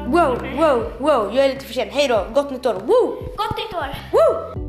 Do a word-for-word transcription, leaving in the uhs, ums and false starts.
Wow, wow, wow. Jag är lite för sen. Hej då. Gott nytt år. Woo! Gott nytt år! Woo!